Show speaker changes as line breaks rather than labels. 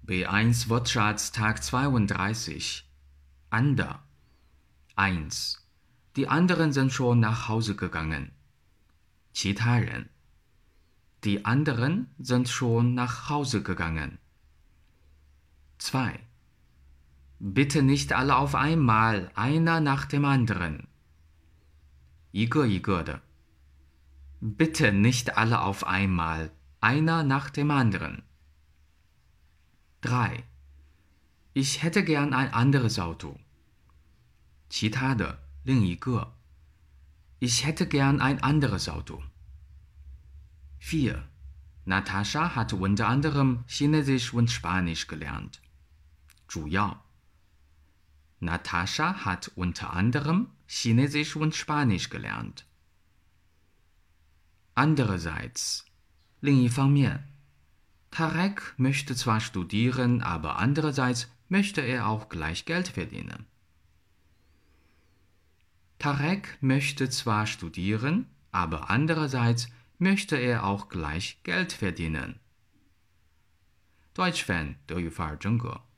B1 Wortschatz Tag 32. Ander. 1. Die anderen sind schon nach Hause gegangen. 其他人. Die anderen sind schon nach Hause gegangen. 2. Bitte nicht alle auf einmal, einer nach dem anderen. 一个一个的. Bitte nicht alle auf einmal, einer nach dem anderen. 3. Ich hätte gern ein anderes Auto. 其他的，另一个. Ich hätte gern ein anderes Auto. 4. Natascha hat unter anderem Chinesisch und Spanisch gelernt. 主要. Natascha hat unter anderem Chinesisch und Spanisch gelernt. Andererseits, 另一方面. Tarek möchte zwar studieren, aber andererseits möchte er auch gleich Geld verdienen. Tarek möchte zwar studieren, aber andererseits möchte er auch gleich Geld verdienen. Deutsch Fan 德语范儿真格